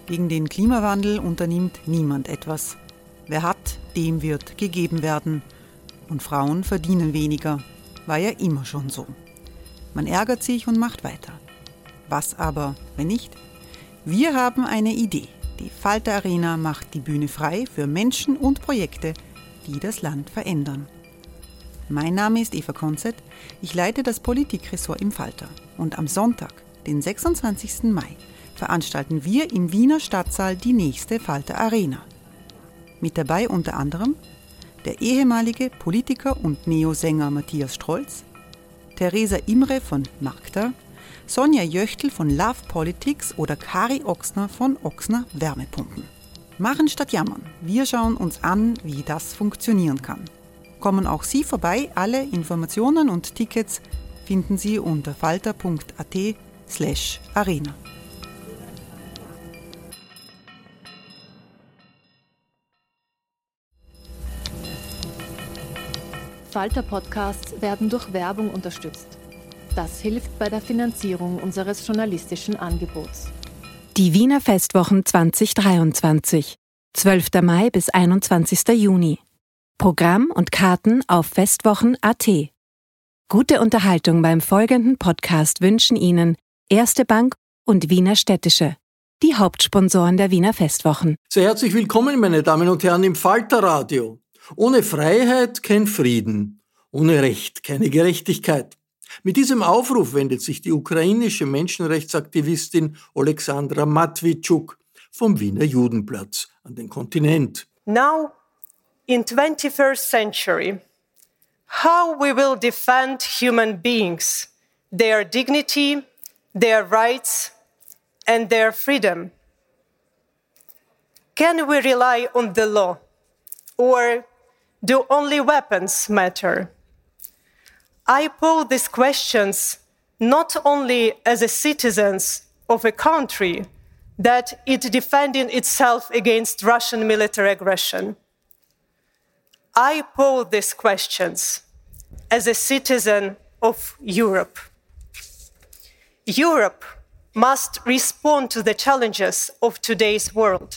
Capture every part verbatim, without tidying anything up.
Gegen den Klimawandel unternimmt niemand etwas. Wer hat, dem wird gegeben werden. Und Frauen verdienen weniger. War ja immer schon so. Man ärgert sich und macht weiter. Was aber, wenn nicht? Wir haben eine Idee. Die Falter Arena macht die Bühne frei für Menschen und Projekte, die das Land verändern. Mein Name ist Eva Konzett. Ich leite das Politikressort im Falter. Und am Sonntag, den sechsundzwanzigsten Mai, veranstalten wir im Wiener Stadtsaal die nächste Falter Arena. Mit dabei unter anderem der ehemalige Politiker und Neosänger Matthias Strolz, Theresa Imre von Magda, Sonja Jöchtl von Love Politics oder Kari Ochsner von Ochsner Wärmepumpen. Machen statt jammern. Wir schauen uns an, wie das funktionieren kann. Kommen auch Sie vorbei. Alle Informationen und Tickets finden Sie unter falter.at slash arena. Falter-Podcasts werden durch Werbung unterstützt. Das hilft bei der Finanzierung unseres journalistischen Angebots. Die Wiener Festwochen zwanzig dreiundzwanzig, zwölfter Mai bis einundzwanzigster Juni. Programm und Karten auf festwochen punkt at. Gute Unterhaltung beim folgenden Podcast wünschen Ihnen Erste Bank und Wiener Städtische, die Hauptsponsoren der Wiener Festwochen. Sehr herzlich willkommen, meine Damen und Herren, im Falterradio. Ohne Freiheit kein Frieden, ohne Recht keine Gerechtigkeit. Mit diesem Aufruf wendet sich die ukrainische Menschenrechtsaktivistin Oleksandra Matwitschuk vom Wiener Judenplatz an den Kontinent. Now, in twenty-first century, how we will defend human beings, their dignity, their rights and their freedom? Can we rely on the law, or do only weapons matter? I pose these questions not only as a citizen of a country that is defending itself against Russian military aggression. I pose these questions as a citizen of Europe. Europe must respond to the challenges of today's world.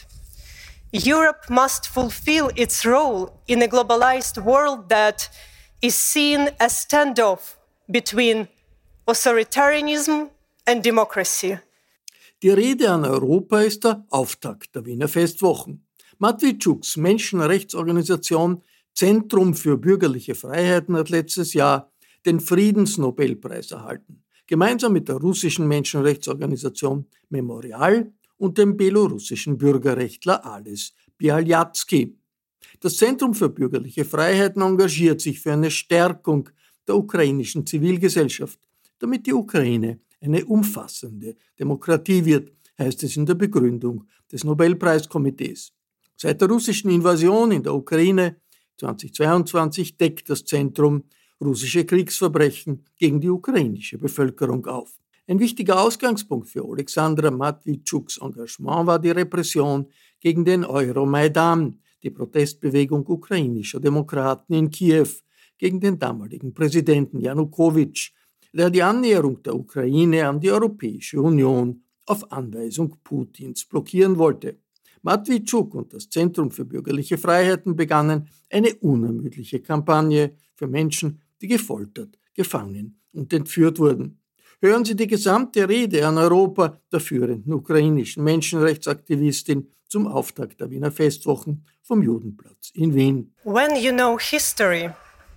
Europe must fulfill its role in a globalized world that is seen as standoff between authoritarianism and democracy. Die Rede an Europa ist der Auftakt der Wiener Festwochen. Matwitschuks Menschenrechtsorganisation Zentrum für bürgerliche Freiheiten hat letztes Jahr den Friedensnobelpreis erhalten, gemeinsam mit der russischen Menschenrechtsorganisation Memorial und dem belorussischen Bürgerrechtler Ales Bialyatsky. Das Zentrum für bürgerliche Freiheiten engagiert sich für eine Stärkung der ukrainischen Zivilgesellschaft, damit die Ukraine eine umfassende Demokratie wird, heißt es in der Begründung des Nobelpreiskomitees. Seit der russischen Invasion in der Ukraine zweitausendzweiundzwanzig deckt das Zentrum russische Kriegsverbrechen gegen die ukrainische Bevölkerung auf. Ein wichtiger Ausgangspunkt für Oleksandra Matwitschuks Engagement war die Repression gegen den Euromaidan, die Protestbewegung ukrainischer Demokraten in Kiew gegen den damaligen Präsidenten Janukowitsch, der die Annäherung der Ukraine an die Europäische Union auf Anweisung Putins blockieren wollte. Matwitschuk und das Zentrum für bürgerliche Freiheiten begannen eine unermüdliche Kampagne für Menschen, die gefoltert, gefangen und entführt wurden. Hören Sie die gesamte Rede an Europa der führenden ukrainischen Menschenrechtsaktivistin zum Auftakt der Wiener Festwochen vom Judenplatz in Wien. When you know history,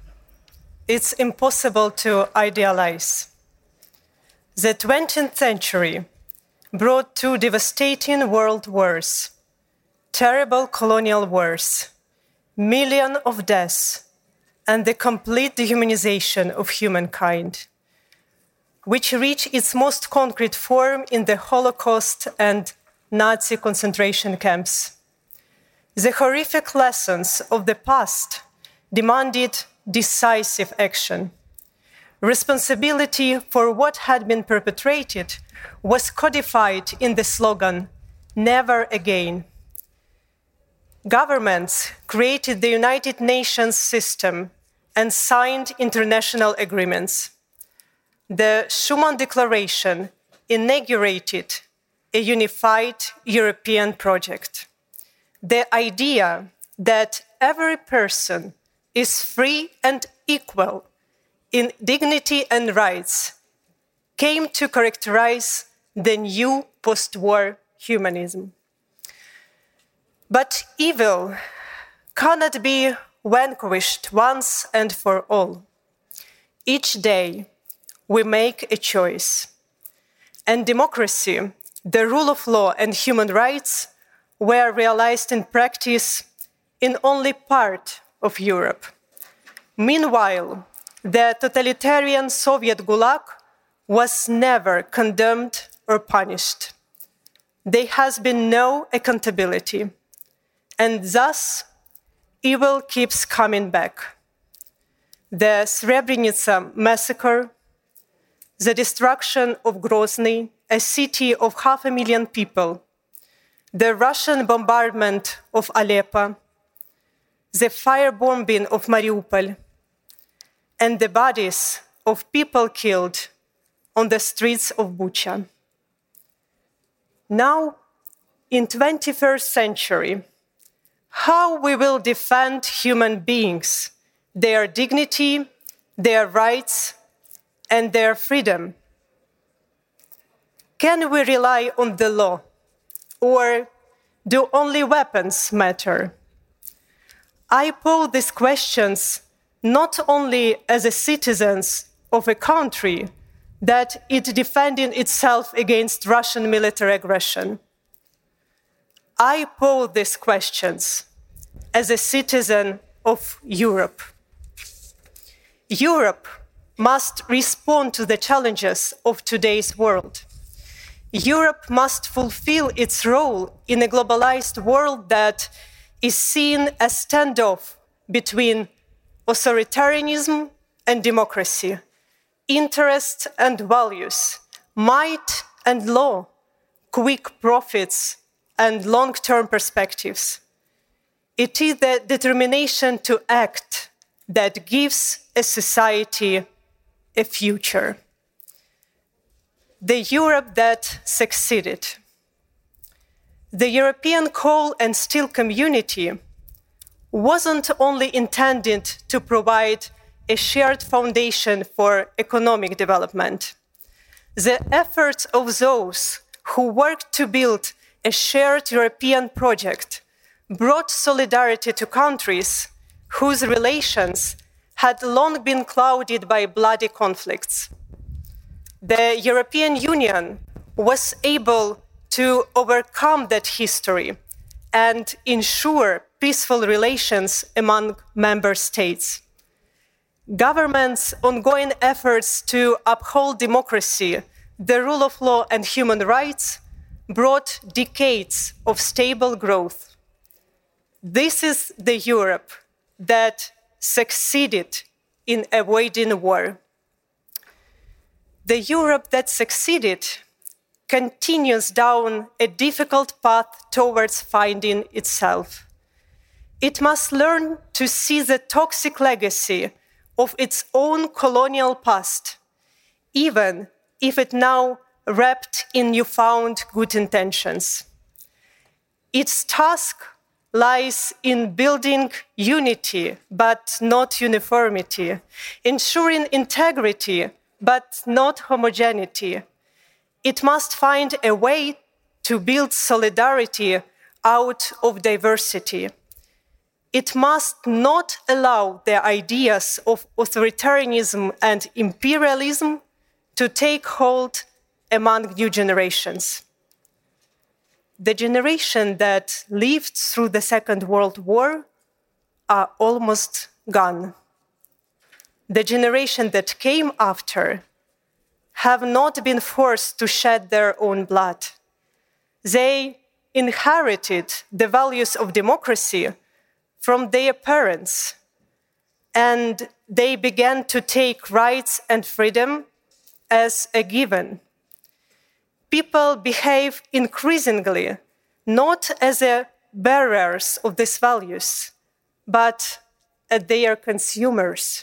it's impossible to idealize. The twentieth century brought two devastating world wars, terrible colonial wars, millions of deaths, and the complete dehumanization of humankind, which reached its most concrete form in the Holocaust and Nazi concentration camps. The horrific lessons of the past demanded decisive action. Responsibility for what had been perpetrated was codified in the slogan, "Never again." Governments created the United Nations system and signed international agreements. The Schuman Declaration inaugurated a unified European project. The idea that every person is free and equal in dignity and rights came to characterize the new post-war humanism. But evil cannot be vanquished once and for all. Each day we make a choice. And democracy, the rule of law and human rights were realized in practice in only part of Europe. Meanwhile, the totalitarian Soviet Gulag was never condemned or punished. There has been no accountability, and thus evil keeps coming back. The Srebrenica massacre, the destruction of Grozny, a city of half a million people, the Russian bombardment of Aleppo, the firebombing of Mariupol, and the bodies of people killed on the streets of Bucha. Now, in the twenty-first century, how we will defend human beings, their dignity, their rights, and their freedom? Can we rely on the law, or do only weapons matter? I pose these questions not only as a citizen of a country that is defending itself against Russian military aggression. I pose these questions as a citizen of Europe. Europe must respond to the challenges of today's world. Europe must fulfill its role in a globalized world that is seen as standoff between authoritarianism and democracy, interests and values, might and law, quick profits and long-term perspectives. It is the determination to act that gives a society a future. The Europe that succeeded. The European coal and steel community wasn't only intended to provide a shared foundation for economic development. The efforts of those who worked to build a shared European project brought solidarity to countries whose relations had long been clouded by bloody conflicts. The European Union was able to overcome that history and ensure peaceful relations among member states. Governments' ongoing efforts to uphold democracy, the rule of law, and human rights brought decades of stable growth. This is the Europe that succeeded in avoiding war. The Europe that succeeded continues down a difficult path towards finding itself. It must learn to see the toxic legacy of its own colonial past, even if it now wrapped in newfound good intentions. Its task lies in building unity, but not uniformity, ensuring integrity, but not homogeneity. It must find a way to build solidarity out of diversity. It must not allow the ideas of authoritarianism and imperialism to take hold among new generations. The generation that lived through the Second World War are almost gone. The generation that came after have not been forced to shed their own blood. They inherited the values of democracy from their parents, and they began to take rights and freedom as a given. People behave increasingly not as a bearers of these values, but as their consumers.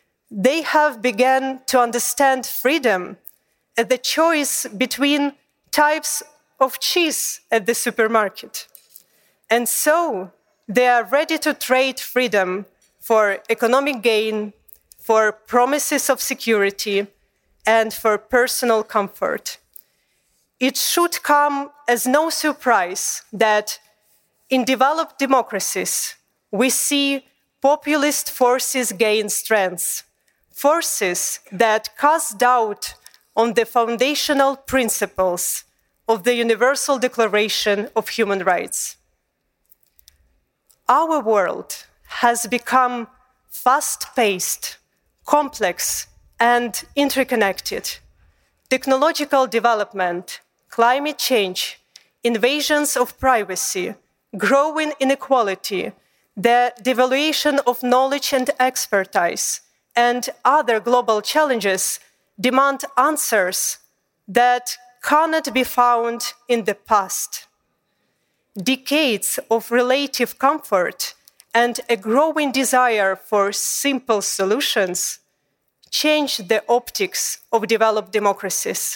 They have begun to understand freedom as the choice between types of cheese at the supermarket. And so they are ready to trade freedom for economic gain, for promises of security, and for personal comfort. It should come as no surprise that in developed democracies, we see populist forces gain strength, forces that cast doubt on the foundational principles of the Universal Declaration of Human Rights. Our world has become fast-paced, complex, and interconnected. Technological development, climate change, invasions of privacy, growing inequality, the devaluation of knowledge and expertise, and other global challenges demand answers that cannot be found in the past. Decades of relative comfort and a growing desire for simple solutions change the optics of developed democracies.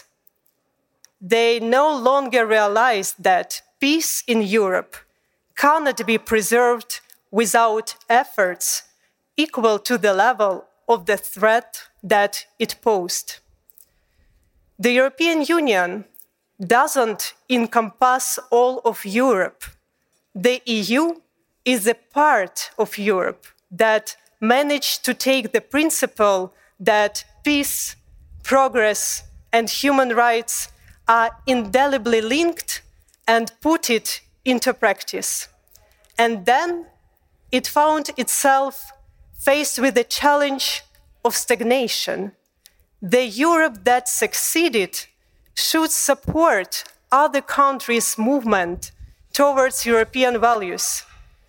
They no longer realize that peace in Europe cannot be preserved without efforts equal to the level of the threat that it posed. The European Union doesn't encompass all of Europe. The E U is a part of Europe that managed to take the principle that peace, progress, and human rights are indelibly linked and put it into practice. And then it found itself faced with the challenge of stagnation. The Europe that succeeded should support other countries' movement towards European values.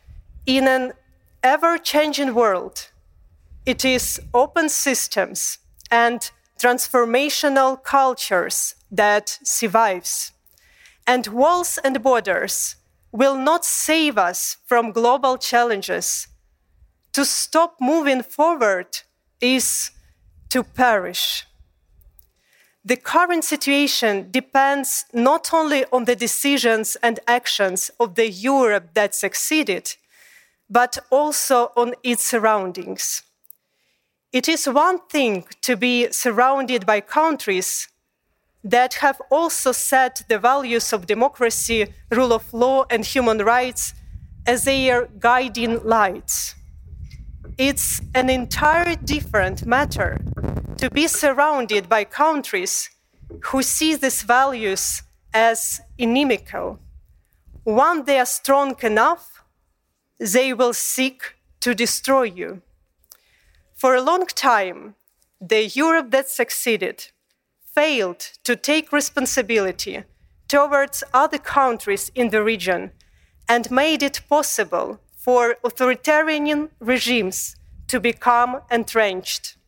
In an ever-changing world, it is open systems and transformational cultures that survives. And walls and borders will not save us from global challenges. To stop moving forward is to perish. The current situation depends not only on the decisions and actions of the Europe that succeeded, but also on its surroundings. It is one thing to be surrounded by countries that have also set the values of democracy, rule of law, and human rights as their guiding lights. It's an entirely different matter to be surrounded by countries who see these values as inimical. Once they are strong enough, they will seek to destroy you. For a long time, the Europe that succeeded failed to take responsibility towards other countries in the region and made it possible for authoritarian regimes to become entrenched.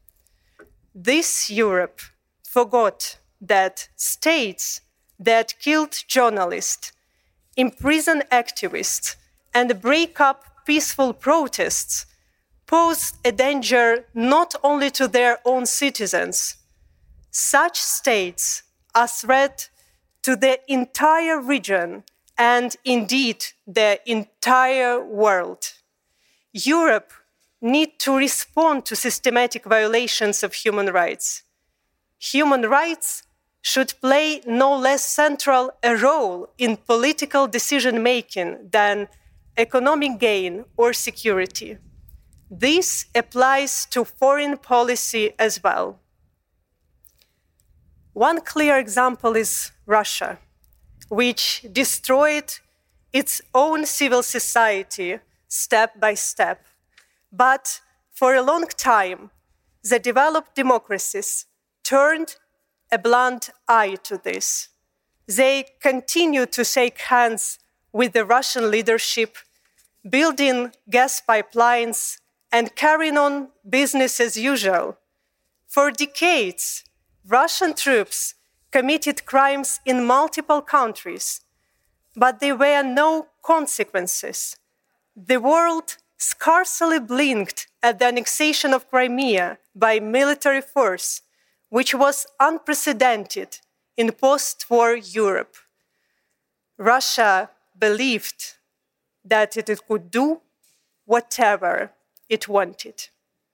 This Europe forgot that states that killed journalists, imprison activists, and break up peaceful protests pose a danger not only to their own citizens. Such states are a threat to the entire region and indeed the entire world. Europe needs to respond to systematic violations of human rights. Human rights should play no less central a role in political decision-making than economic gain or security. This applies to foreign policy as well. One clear example is Russia, which destroyed its own civil society step by step. But for a long time, the developed democracies turned a blind eye to this. They continue to shake hands with the Russian leadership, building gas pipelines and carrying on business as usual. For decades, Russian troops committed crimes in multiple countries, but there were no consequences. The world scarcely blinked at the annexation of Crimea by military force, which was unprecedented in post-war Europe. Russia believed that it could do whatever it wanted.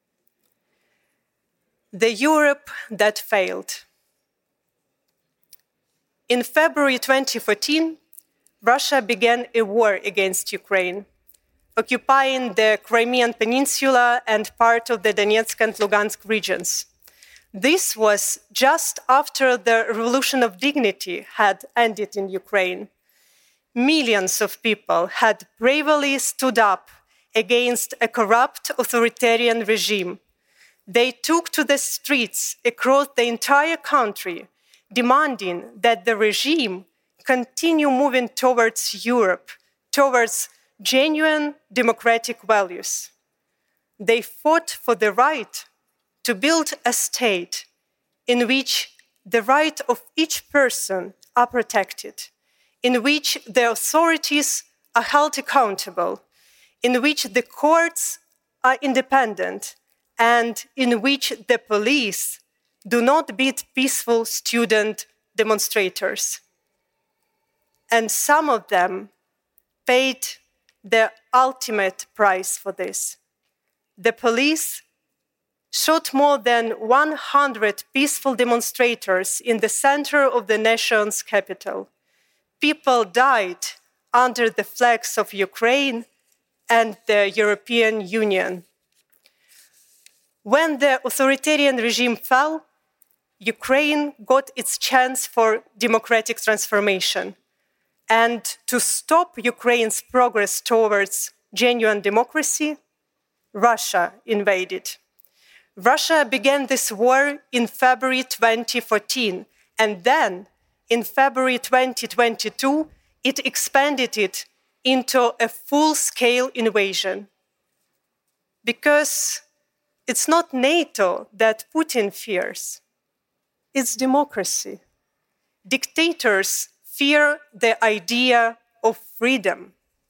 The Europe that failed. In February twenty fourteen, Russia began a war against Ukraine, occupying the Crimean Peninsula and part of the Donetsk and Lugansk regions. This was just after the Revolution of Dignity had ended in Ukraine. Millions of people had bravely stood up against a corrupt authoritarian regime. They took to the streets across the entire country, demanding that the regime continue moving towards Europe, towards genuine democratic values. They fought for the right to build a state in which the rights of each person are protected, in which the authorities are held accountable, in which the courts are independent, and in which the police do not beat peaceful student demonstrators. And some of them paid the ultimate price for this. The police shot more than one hundred peaceful demonstrators in the center of the nation's capital. People died under the flags of Ukraine and the European Union. When the authoritarian regime fell, Ukraine got its chance for democratic transformation. And to stop Ukraine's progress towards genuine democracy, Russia invaded. Russia began this war in February twenty fourteen, and then in February twenty twenty-two, it expanded it into a full-scale invasion. Because it's not NATO that Putin fears, it's democracy. Dictators fear the idea of freedom.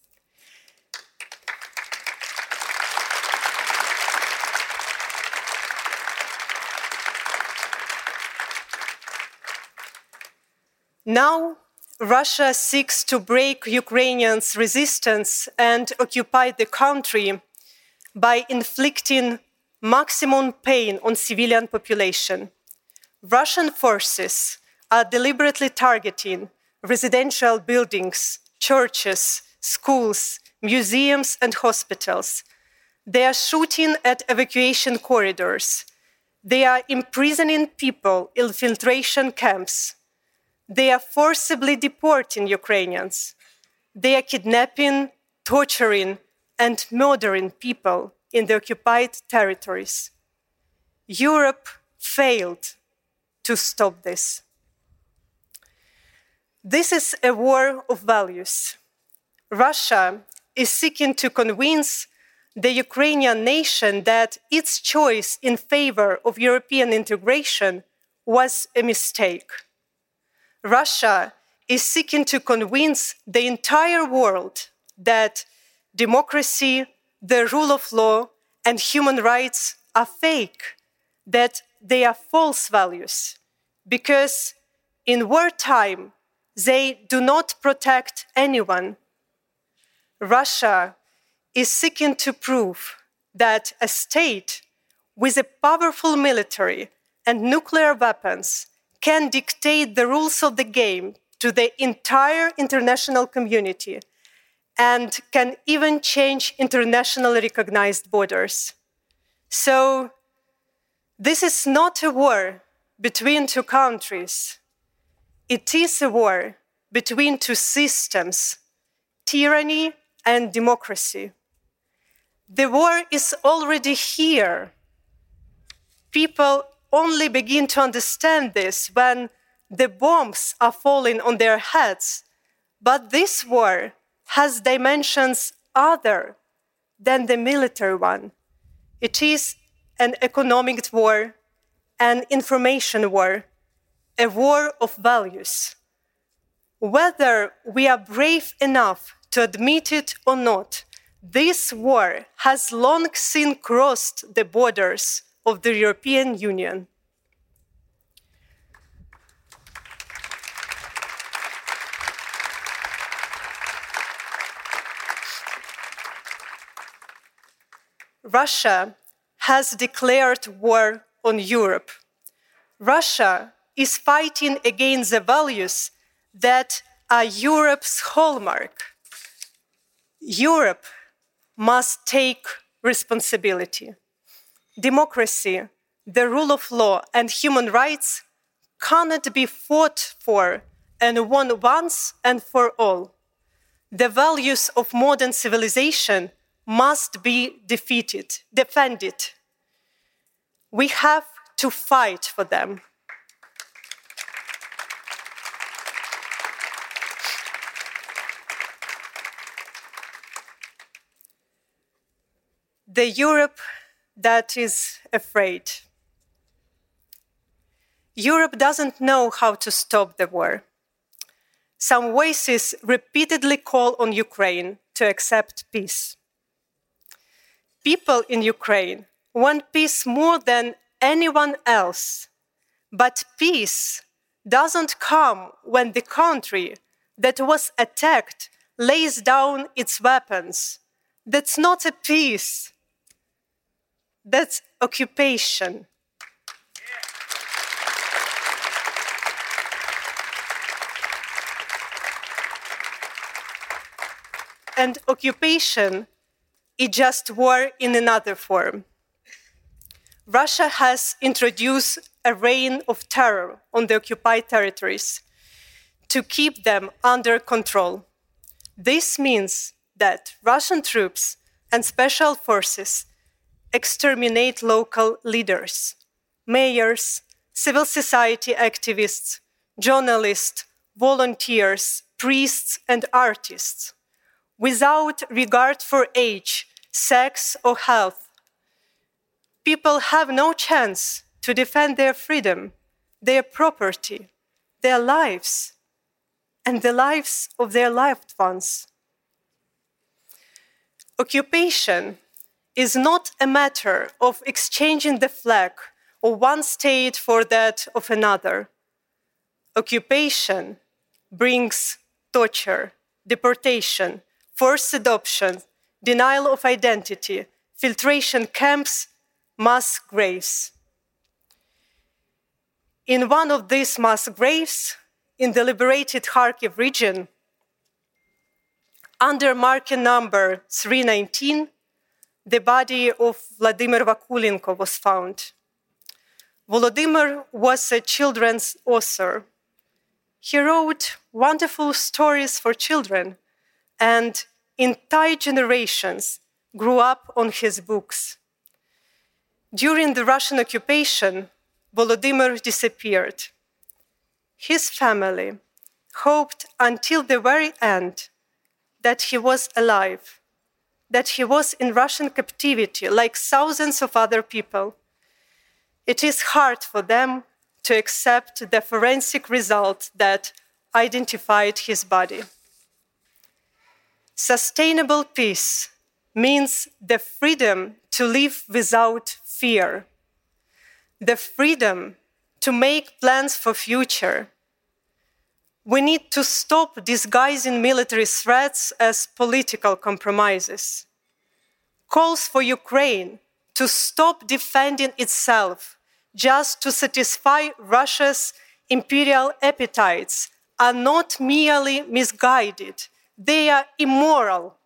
Now, Russia seeks to break Ukrainians' resistance and occupy the country by inflicting maximum pain on civilian population. Russian forces are deliberately targeting residential buildings, churches, schools, museums, and hospitals. They are shooting at evacuation corridors. They are imprisoning people in filtration camps. They are forcibly deporting Ukrainians. They are kidnapping, torturing, and murdering people in the occupied territories. Europe failed to stop this. This is a war of values. Russia is seeking to convince the Ukrainian nation that its choice in favor of European integration was a mistake. Russia is seeking to convince the entire world that democracy, the rule of law, and human rights are fake, that they are false values, because in wartime, they do not protect anyone. Russia is seeking to prove that a state with a powerful military and nuclear weapons can dictate the rules of the game to the entire international community and can even change internationally recognized borders. So, this is not a war between two countries. It is a war between two systems, tyranny and democracy. The war is already here. People only begin to understand this when the bombs are falling on their heads. But this war has dimensions other than the military one. It is an economic war, an information war, a war of values. Whether we are brave enough to admit it or not, this war has long since crossed the borders of the European Union. Russia has declared war on Europe. Russia is fighting against the values that are Europe's hallmark. Europe must take responsibility. Democracy, the rule of law, and human rights cannot be fought for and won once and for all. The values of modern civilization must be defeated, defended. We have to fight for them. The Europe that is afraid. Europe doesn't know how to stop the war. Some voices repeatedly call on Ukraine to accept peace. People in Ukraine want peace more than anyone else, but peace doesn't come when the country that was attacked lays down its weapons. That's not a peace. That's occupation. And occupation is just war in another form. Russia has introduced a reign of terror on the occupied territories to keep them under control. This means that Russian troops and special forces exterminate local leaders, mayors, civil society activists, journalists, volunteers, priests, and artists, without regard for age, sex, or health. People have no chance to defend their freedom, their property, their lives, and the lives of their loved ones. Occupation is not a matter of exchanging the flag of one state for that of another. Occupation brings torture, deportation, forced adoption, denial of identity, filtration camps, mass graves. In one of these mass graves, in the liberated Kharkiv region, under marker number three nineteen, the body of Vladimir Vakulenko was found. Volodymyr was a children's author. He wrote wonderful stories for children, and entire generations grew up on his books. During the Russian occupation, Volodymyr disappeared. His family hoped until the very end that he was alive, that he was in Russian captivity like thousands of other people. It is hard for them to accept the forensic result that identified his body. Sustainable peace means the freedom to live without fear, the freedom to make plans for future. We need to stop disguising military threats as political compromises. Calls for Ukraine to stop defending itself just to satisfy Russia's imperial appetites are not merely misguided, they are immoral.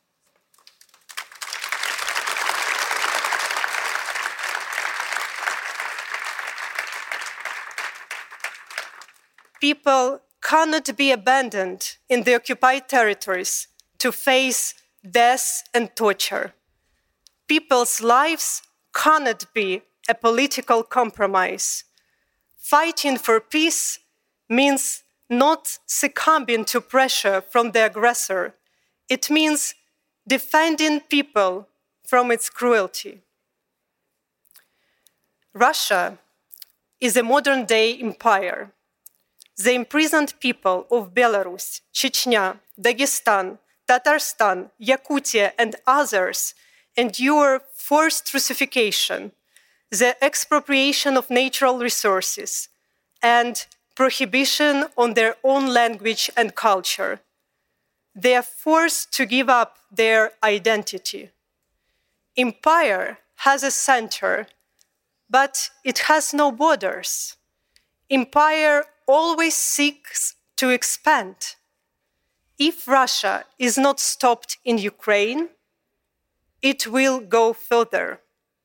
People cannot be abandoned in the occupied territories to face death and torture. People's lives cannot be a political compromise. Fighting for peace means not succumbing to pressure from the aggressor. It means defending people from its cruelty. Russia is a modern-day empire. The imprisoned people of Belarus, Chechnya, Dagestan, Tatarstan, Yakutia, and others endure forced Russification, the expropriation of natural resources, and prohibition on their own language and culture. They are forced to give up their identity. Empire has a center, but it has no borders. Empire always seeks to expand. If Russia is not stopped in Ukraine, it will go further.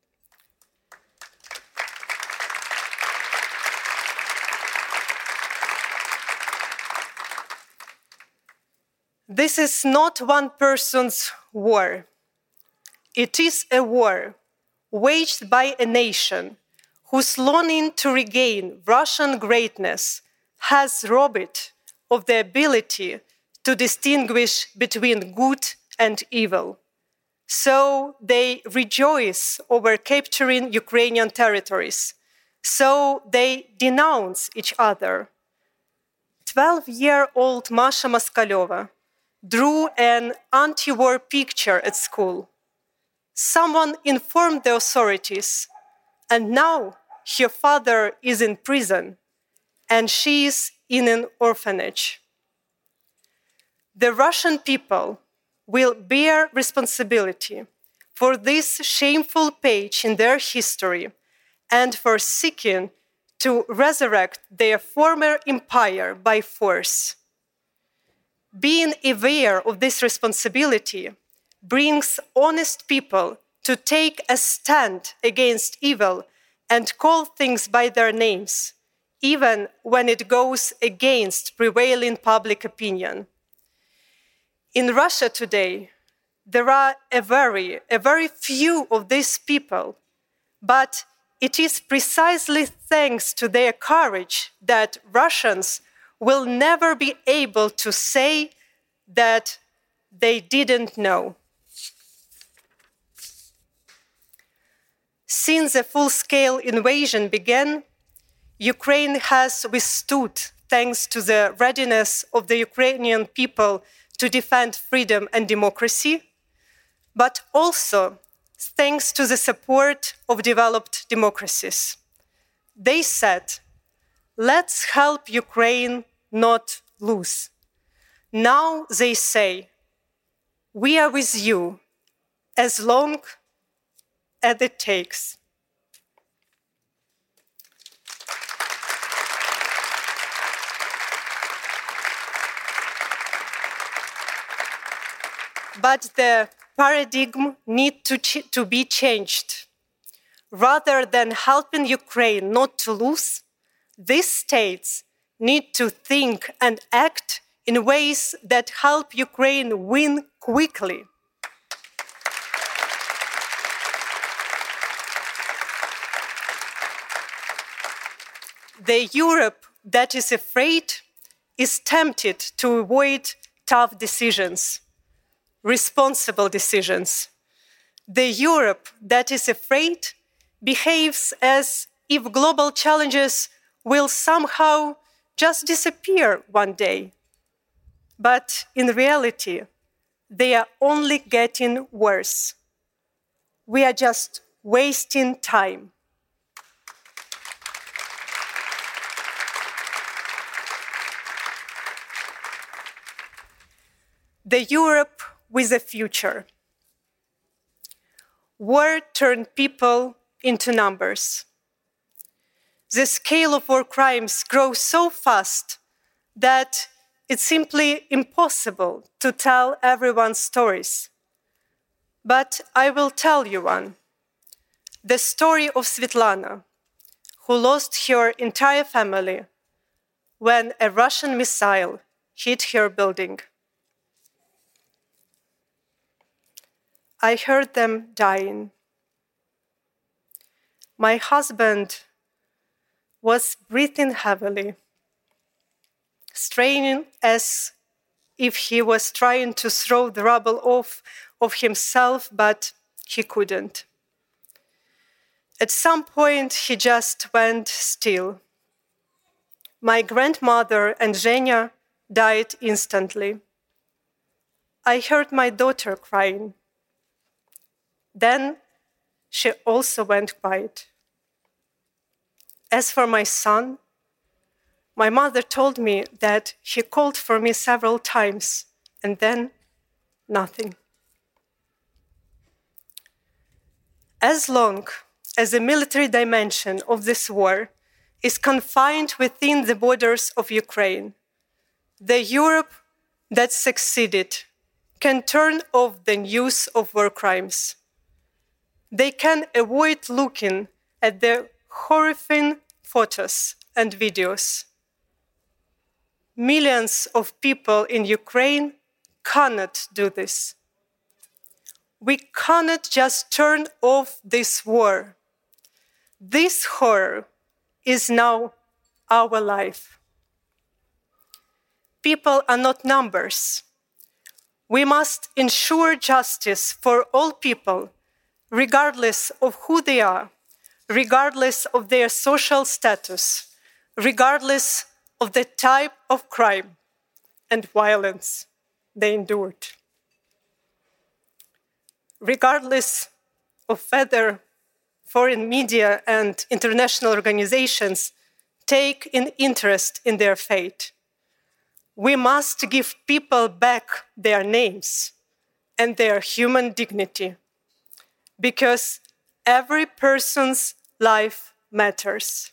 This is not one person's war. It is a war waged by a nation whose longing to regain Russian greatness has robbed it of the ability to distinguish between good and evil. So they rejoice over capturing Ukrainian territories. So they denounce each other. twelve-year-old Masha Moskalyova drew an anti-war picture at school. Someone informed the authorities, and now her father is in prison, and she is in an orphanage. The Russian people will bear responsibility for this shameful page in their history and for seeking to resurrect their former empire by force. Being aware of this responsibility brings honest people to take a stand against evil and call things by their names, even when it goes against prevailing public opinion. In Russia today, there are a very, a very few of these people, but it is precisely thanks to their courage that Russians will never be able to say that they didn't know. Since the full-scale invasion began, Ukraine has withstood, thanks to the readiness of the Ukrainian people to defend freedom and democracy, but also thanks to the support of developed democracies. They said, let's help Ukraine not lose. Now they say, we are with you as long as it takes. But the paradigm needs to, ch- to be changed. Rather than helping Ukraine not to lose, these states need to think and act in ways that help Ukraine win quickly. The Europe that is afraid is tempted to avoid tough decisions, responsible decisions. The Europe that is afraid behaves as if global challenges will somehow just disappear one day. But in reality, they are only getting worse. We are just wasting time. The Europe with a future. War turned people into numbers. The scale of war crimes grows so fast that it's simply impossible to tell everyone's stories. But I will tell you one. The story of Svetlana, who lost her entire family when a Russian missile hit her building. I heard them dying. My husband was breathing heavily, straining as if he was trying to throw the rubble off of himself, but he couldn't. At some point, he just went still. My grandmother and Zhenya died instantly. I heard my daughter crying. Then she also went quiet. As for my son, my mother told me that he called for me several times, and then nothing. As long as the military dimension of this war is confined within the borders of Ukraine, the Europe that succeeded can turn off the news of war crimes. They can avoid looking at the horrifying photos and videos. Millions of people in Ukraine cannot do this. We cannot just turn off this war. This horror is now our life. People are not numbers. We must ensure justice for all people, regardless of who they are, regardless of their social status, regardless of the type of crime and violence they endured. Regardless of whether foreign media and international organizations take an interest in their fate, we must give people back their names and their human dignity, because every person's life matters.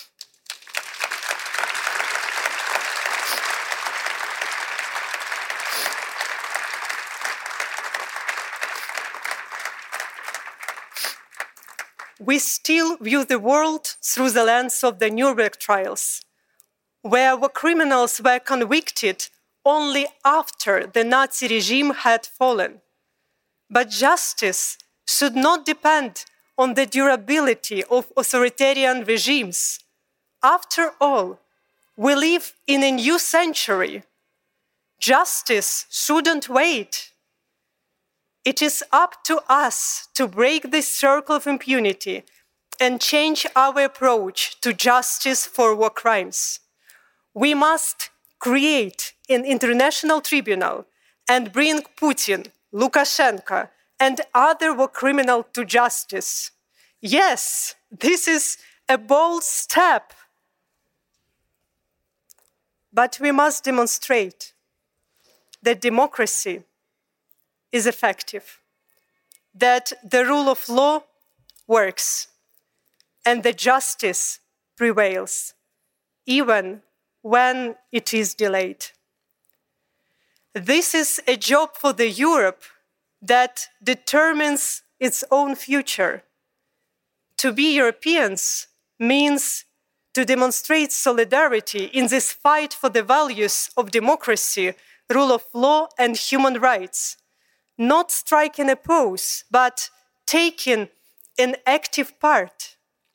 We still view the world through the lens of the Nuremberg trials, where war criminals were convicted only after the Nazi regime had fallen. But justice should not depend on the durability of authoritarian regimes. After all, we live in a new century. Justice shouldn't wait. It is up to us to break this circle of impunity and change our approach to justice for war crimes. We must create an international tribunal and bring Putin, Lukashenko, and other war criminals to justice. Yes, this is a bold step. But we must demonstrate that democracy is effective, that the rule of law works, and that justice prevails, even when it is delayed. This is a job for the Europe that determines its own future. To be Europeans means to demonstrate solidarity in this fight for the values of democracy, rule of law, and human rights. Not striking a pose, but taking an active part.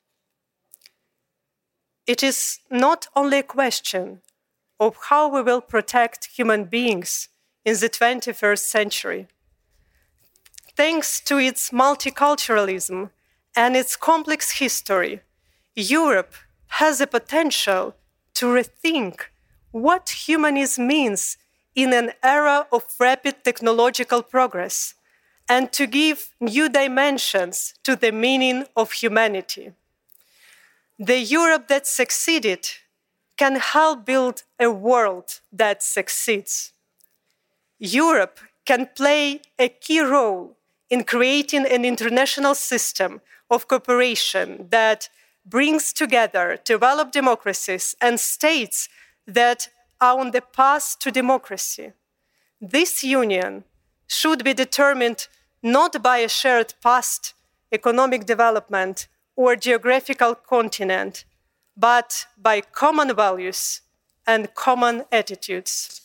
It is not only a question of how we will protect human beings in the twenty-first century. Thanks to its multiculturalism and its complex history, Europe has the potential to rethink what humanism means in an era of rapid technological progress and to give new dimensions to the meaning of humanity. The Europe that succeeded can help build a world that succeeds. Europe can play a key role in creating an international system of cooperation that brings together developed democracies and states that are on the path to democracy. This union should be determined not by a shared past, economic development, or geographical continent, but by common values and common attitudes.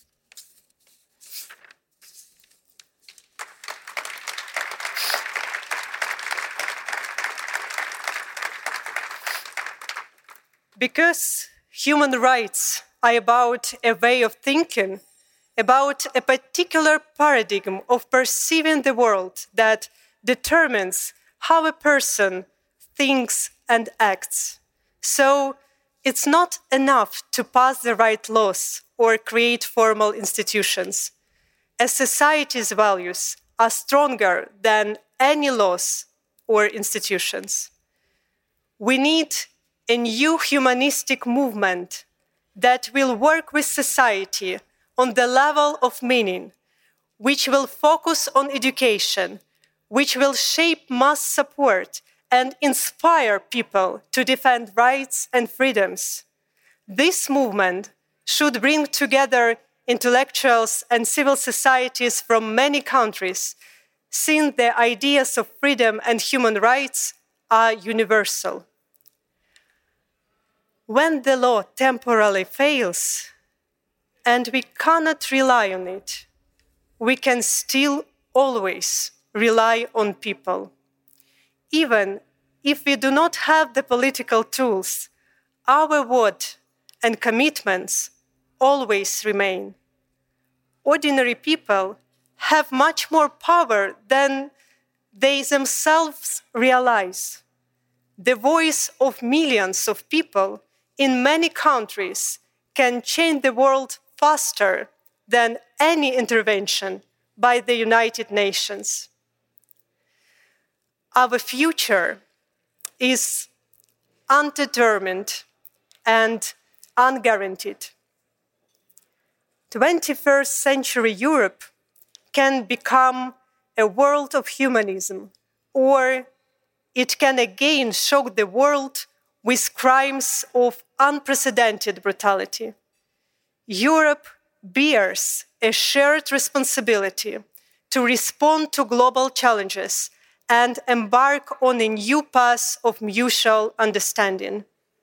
Because human rights are about a way of thinking, about a particular paradigm of perceiving the world that determines how a person thinks and acts. So it's not enough to pass the right laws or create formal institutions. A society's values are stronger than any laws or institutions. We need a new humanistic movement that will work with society on the level of meaning, which will focus on education, which will shape mass support and inspire people to defend rights and freedoms. This movement should bring together intellectuals and civil societies from many countries, since the ideas of freedom and human rights are universal. When the law temporarily fails, and we cannot rely on it, we can still always rely on people. Even if we do not have the political tools, our word and commitments always remain. Ordinary people have much more power than they themselves realize. The voice of millions of people in many countries can change the world faster than any intervention by the United Nations. Our future is undetermined and unguaranteed. twenty-first century Europe can become a world of humanism, or it can again shock the world with crimes of unprecedented brutality. Europe bears a shared responsibility to respond to global challenges and embark on a new path of mutual understanding.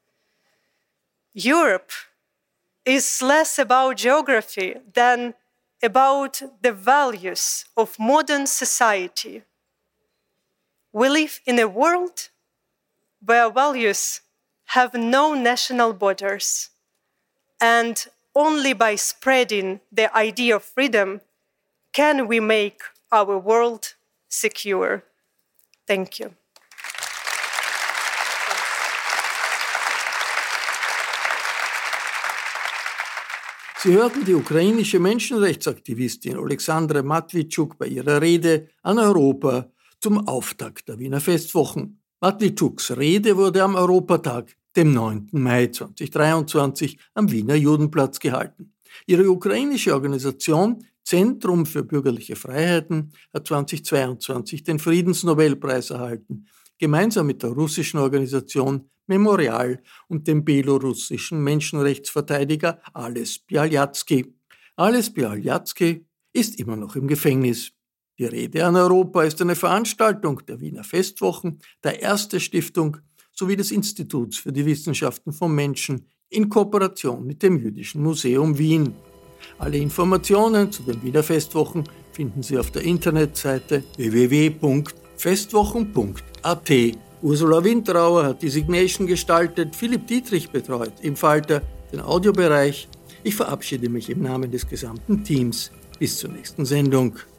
Europe is less about geography than about the values of modern society. We live in a world where values have no national borders, and only by spreading the idea of freedom can we make our world secure. Thank you. Sie hörten die ukrainische Menschenrechtsaktivistin Oleksandra Matwitschuk bei ihrer Rede an Europa zum Auftakt der Wiener Festwochen. Matwitschuk Rede wurde am Europatag, dem neunten Mai zweitausenddreiundzwanzig, am Wiener Judenplatz gehalten. Ihre ukrainische Organisation Zentrum für bürgerliche Freiheiten hat zweitausendzweiundzwanzig den Friedensnobelpreis erhalten, gemeinsam mit der russischen Organisation Memorial und dem belarussischen Menschenrechtsverteidiger Ales Bialyatsky. Ales Bialyatsky ist immer noch im Gefängnis. Die Rede an Europa ist eine Veranstaltung der Wiener Festwochen, der Erste Stiftung sowie des Instituts für die Wissenschaften vom Menschen in Kooperation mit dem Jüdischen Museum Wien. Alle Informationen zu den Wiener Festwochen finden Sie auf der Internetseite w w w punkt festwochen punkt a t. Ursula Winterauer hat die Signation gestaltet, Philipp Dietrich betreut im Falter den Audiobereich. Ich verabschiede mich im Namen des gesamten Teams. Bis zur nächsten Sendung.